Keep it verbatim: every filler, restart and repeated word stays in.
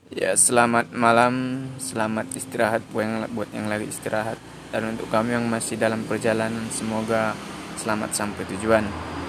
Ya, selamat malam, selamat istirahat buat yang, buat yang lagi istirahat. Dan untuk kamu yang masih dalam perjalanan, semoga selamat sampai tujuan.